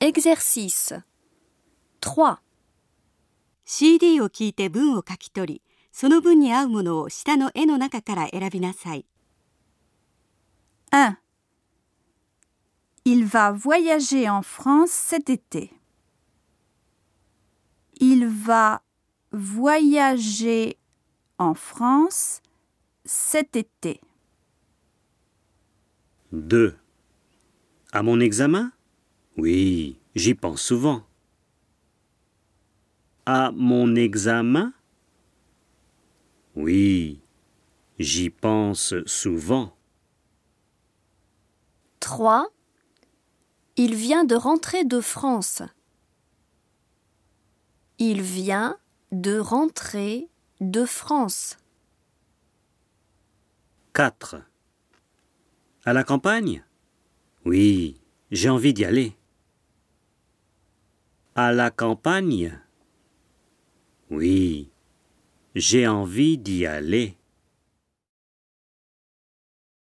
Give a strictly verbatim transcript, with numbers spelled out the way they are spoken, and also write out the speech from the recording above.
Exercice trois. シーディー を聞いて文を書き取り、その文に合うものを下の絵の中から選びなさい。 un. Il va voyager en France cet été. Il va voyager en France cet été. deux. À mon examen? Oui, j'y pense souvent. À mon examen? Oui, j'y pense souvent. trois. Il vient de rentrer de France. Il vient de rentrer de France. quatre. À la campagne? Oui, j'ai envie d'y aller. À la campagne? Oui, j'ai envie d'y aller.